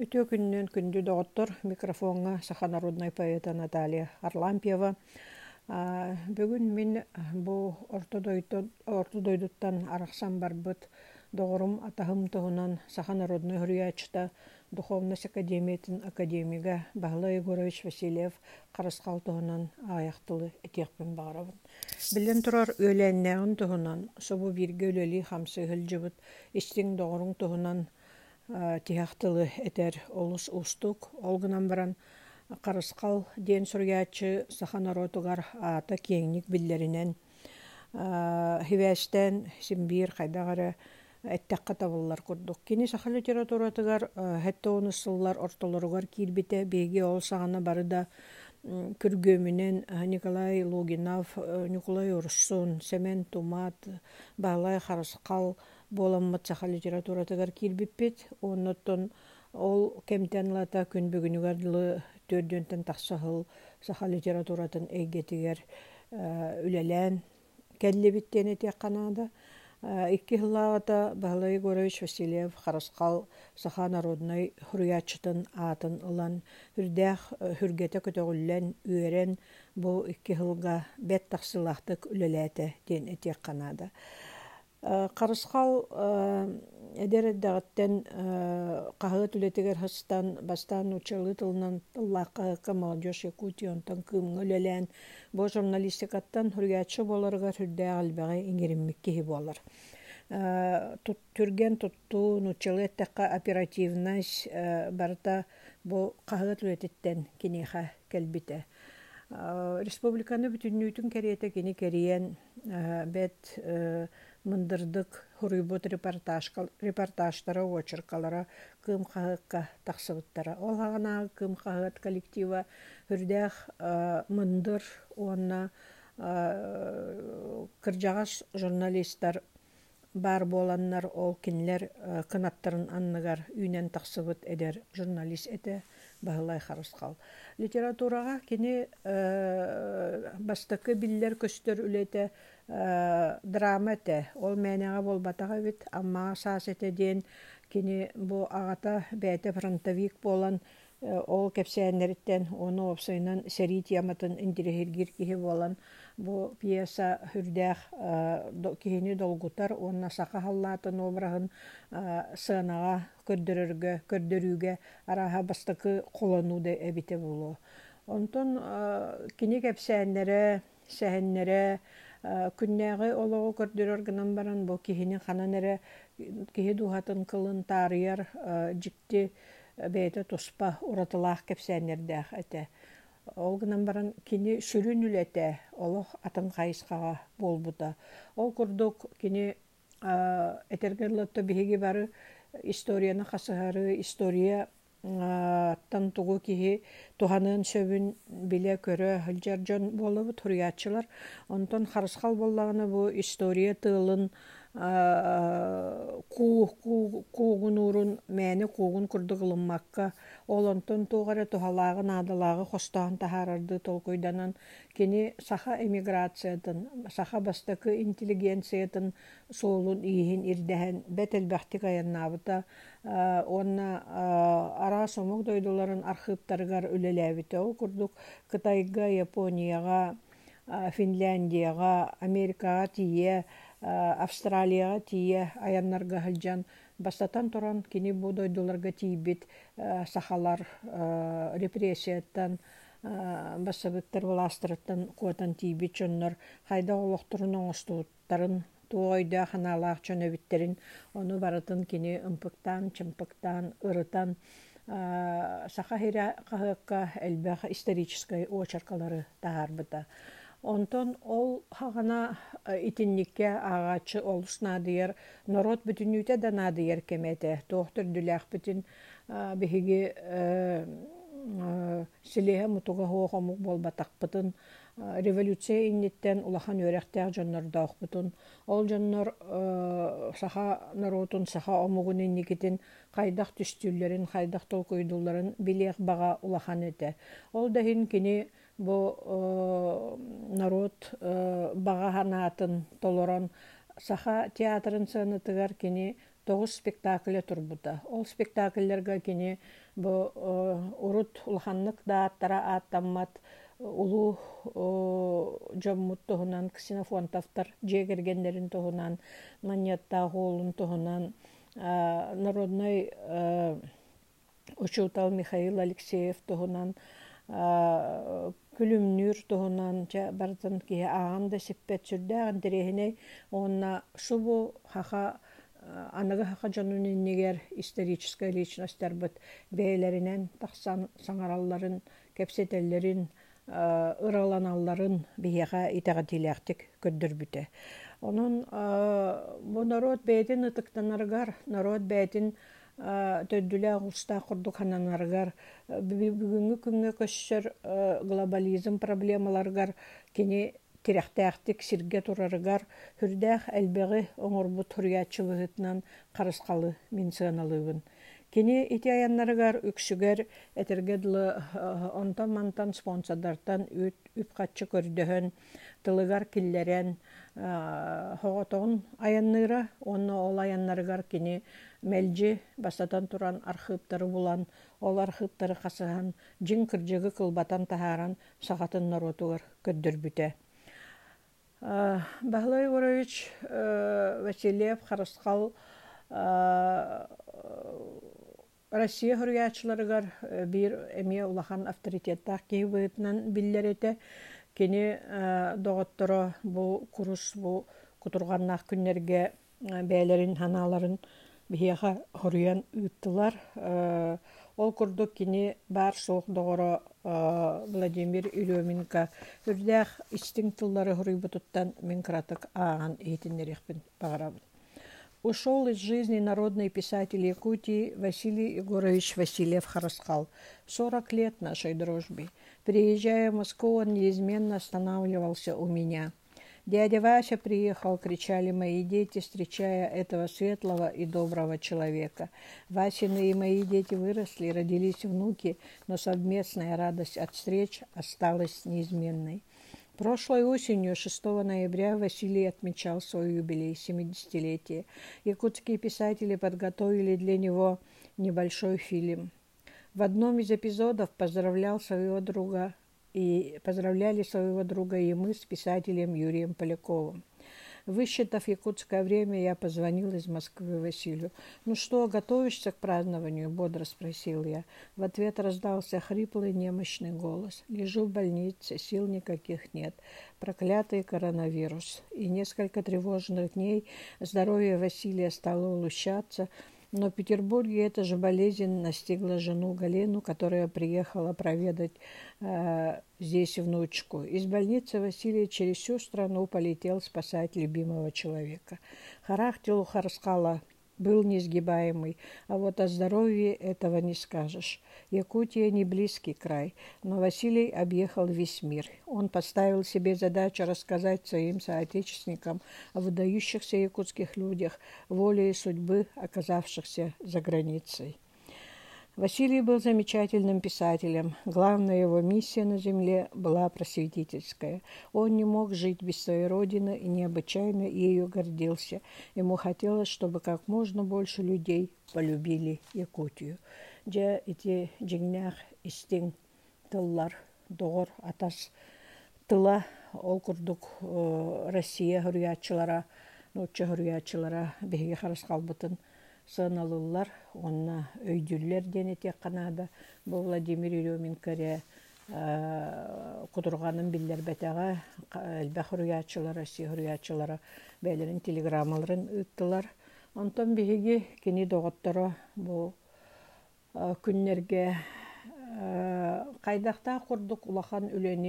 Үтө күннен күндү доғыттыр микрофонға Саха народный поэта Наталья Арлампьева. Бүгін мен бұл ортодойдуттан арақсан барбыт доғырым атахым тұғынан Саха народный хұрыячыта Духовность академиятын академига Бағла Егорович Васильев қарысқал тұғынан аяқтылы етекпен бағырабын. Білен тұрар өләннәғын тұғынан, собу бірге өлелі қамсы ғылжыбыт, істің доғырың тұғынан тияқтылы этер олус устук олгунан баран карыскал ден сурьячы Саха народугар ата кеңник биллеринен хивэстен симбир хайдагары эттекка табыллар курдук. Кини Саха литературатыгар хэттоонуссуллар ортолоругар кирбите беги ол сагана барыда күргөмүнен Николай Логинов, Николай Урсун, Семен Тумат, Бағлай Харыскал боламмат Саха литературатыгар кирбиппит. Онноттон ол кемтенлата күн бүгүнүгарлы төрдөнтен тахсахыл Саха литературатын эйгетигер үлелен келлебиттени тек канада. Икки хыллаата Бағлай Егорович Васильев Харыскал Саха народный хурьячытын атын ылан үрдэх хүргете көтөгүллен үөрен бу икки хылга бет тахсылахтык үлелете ден этек канада. Карыскал эдердагыттен кахыт үлетигер хыстан бастан учалы тылынан тыллакка молодежь Якутионтан кымгөлелен бу журналистикаттан хурьячы боларга хүрдэ албагы иңериммикки болар. Түрген тутту нучалы эттэкка оперативность барта бу кахыт үлетиттен кинеха келбите. Республиканы бүтүннүүтүн кериете кини кериен бет мындырдык хуруйбут репортажтара очеркалара кым кахыкка тахсыбыттара. Ол хагана кым кахыт коллектива хүрдэх мындыр онна кыржагас журналисттар бар боланнар ол кинлер кынаттарын анныгар үйнен тахсыбыт эдер журналист эте Бағлай Харыскал. Литературага кини бастакы биллер көстөр үлете драма эте. Ол мәнеға болбатаға бит, амма саас эте ден кини бу агата бәйте фронтовик болан ол кепсәннәрттен оны опсайнан сери тематын индирехиргир кихи болан бу пьеса хүрдэх кихини долгутар онна Саха халлатын обрагын сынага көрдөрүүгө араха бастакы колонууда эбите болу. Онтон кини кепсәннәре сәһеннәре күннәгы олого көрдөрөр гынан баран бу кихини хананере кихи духатын кылын тарыяр жикти бәйті туспа уратылақ кепсәнердәқ әті. Ол гынан баран кини сүрін үләті олық атын қайысқаға болбыда. Ол күрдік кини әтергерлітті бігі бары историяны қасығары, история тантугу кихи туханын сөбүн биле көрө хылжаржон болобут хурьячылар. Онтон Харыскал боллагына бу история тылын куугун урун мэни куугун курдугылыммакка олонтон тугара тухалагын адалагы хостаан тахарарды толкуйданан кини Саха эмиграциятын Саха бастакы интеллигенциятын соолун иихин ирдэһэн бетелбахтик аяннабыта онна ара сомук дойдуларын архивтарыгар үлелэбите. Ол курдук Кытайга, Японияга, Финляндияга, Америкага тие, Австралияга тие аяннарга хылжан бастатан туран кини бу дойдуларга тиибит сахалар репрессияттан басабыттар властырыттан куатан тиибит чоннор хайда олохторун оңостууттарын туойда ханалаах чөнөбиттерин ону барытын кини ымпыктан, чымпыктан, ырытан Саха хире кахыкка элбэх исторической очеркалары таарбыта. Онтон ол хагана итинникке агачы олуснадыер народ бүтүнүтэ да надыер кемете. Тоохтор дүлэх бүтүн биһиги силеһе мутуга хоохомук болбатакпытын революция инниттен улахан өрехтег жоннордоохпутун. Ол жоннор Саха народун Саха омугун инникитин кайдах түстүллерин, кайдах толкуйдулларын билех бага улахан эте. Ол дахин кини бу народ бага ханатын толорон Саха театрын сынытыгар кини тоғыз спектакль турбута. Ол спектакльлерге кини бу урут улханнык дааттара аттаммат улу жоммут тоһунан ксенофонтовтар жегергендерин тоһунан маньятта голун тоһунан народной учутал Михаил Алексеев тоһунан күлүмнүр тоһунан бартын ки ағам да сиппет сүрдәгән тирехине онна шубу хаха аныгы хаха жонуннигер историческая личностьтер бит бәйләреннән тахсан саңаралларын кепсетелләрин ыраланалларын бияга итәгатиләхтик көддөрбүтә. Onun bu народ бәйтин ытыктанаргар, народ бәйтин төддүлә густа курдук хананаргар, бүгүнгү күнгө көссөр глобализм проблемаларгар кини тирәхтәхтик сирге тураргар хүрдәх әлбәге оңорбут хурьячылыгытнан карыскалы мин сыналыбын. Кини ити аяннарыгар үксүгер этергедлы онтан-мантан спонсордардан үп катчы көрдөһөн тылыгар киллерен хоготон аянныра, онно ол аяннарыгар кини мелжи басатан туран архивтары булан, ол архивтары касыган жин кыржыгы кылбатан тахаран сагатын народугар көддөрбүтэ. Бахлай Ворович Васильев Харыскал Россия хурьячыларыгар бир эме улахан авторитеттах кейбытынан биллерете кини доготторо бу курус бу кутурганнах күннерге бәйләрин ханаларын бияга хурьян ыттылар. Ол курдук кини бар соох догоро Владимир Илюменко үрдәх истин тыллары хурыйбытыттан мен кратык ааган эйтиннерихпин багарабын. Ушел из жизни народный писатель Якутии Василий Егорович Васильев Харыскал. 40 лет нашей дружбе. Приезжая в Москву, он неизменно останавливался у меня. «Дядя Вася приехал», — кричали мои дети, встречая этого светлого и доброго человека. Васины и мои дети выросли, родились внуки, но совместная радость от встреч осталась неизменной. Прошлой осенью, 6 ноября, Василий отмечал свой юбилей, 70-летие. Якутские писатели подготовили для него небольшой фильм. В одном из эпизодов поздравляли своего друга и мы с писателем Юрием Поляковым. Высчитав якутское время, я позвонил из Москвы Василию. «Ну что, готовишься к празднованию?» — бодро спросил я. В ответ раздался хриплый немощный голос. «Лежу в больнице, сил никаких нет. Проклятый коронавирус». И несколько тревожных дней здоровье Василия стало улучшаться, но в Петербурге эта же болезнь настигла жену Галину, которая приехала проведать здесь внучку. Из больницы Василий через всю страну полетел спасать любимого человека. Характер у Харыскала был несгибаемый, а вот о здоровье этого не скажешь. Якутия не близкий край, но Василий объехал весь мир. Он поставил себе задачу рассказать своим соотечественникам о выдающихся якутских людях, волей судьбы, оказавшихся за границей. Василий был замечательным писателем. Главная его миссия на земле была просветительская. Он не мог жить без своей родины и необычайно ею гордился. Ему хотелось, чтобы как можно больше людей полюбили Якутию. Же эти жигнях истин тыллар догор атас тыла ол курдук Россия хурьячылара, ночча хурьячылара беге Харыскалбытын сыналылар, онна өйдүллер денете канада. Бу Владимир Илюменкаре кудурганын биллер бетага элбе хурьячылар, Россия хурьячылары бәйлерин телеграммаларын ыттылар. Онтон биһиги кини доготторо бу күннерге кайдакта курдук улахан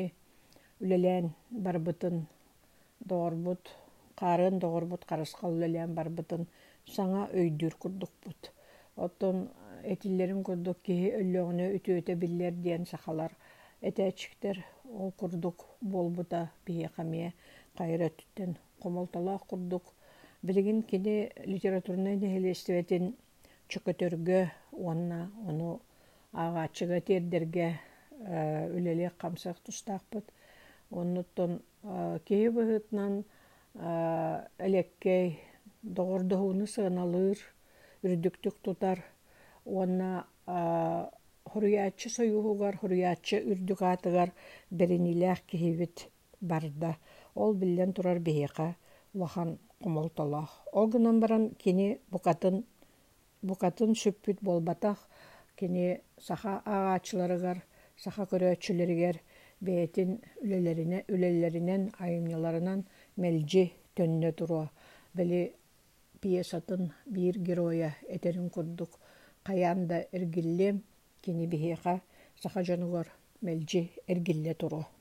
үлелен барбытын догорбут, карын догорбут Харыскал үлелен барбытын саңа өйдүр курдук бут. Оттон этиллерин курдук ки өллөгөнө үтүөтө биллер диэн сахалар этечиктер ол курдук болбута бие камия кайра түттен комолталаах курдук. Билигин кини литературный нехилестибетин чөкөтөргө ону агачыга тердерге үлелек камсак тустаакпыт. Оннуттон кейбыгытнан элеккей догордоһуну сыналыр, үрдүктүк тутар, уонна хуруяччы союһугар, хуруяччы үрдүк атыгар беринилээх киһибит барда. Ол биллен турар биһиэхэ улахан хомолтолоох. Ол гынан баран кини букатын сүппүт болбатах, кини саха аагаачыларыгар, саха көрөөччүлэригэр бэйэтин үлэлэринэн, айымняларынан мэлдьи төннө туруо. Били пьесатын биир героя этерин курдук хайаанда эргиллэм кини биһиэхэ саха дьонугар мэлдьи эргиллэ туруо.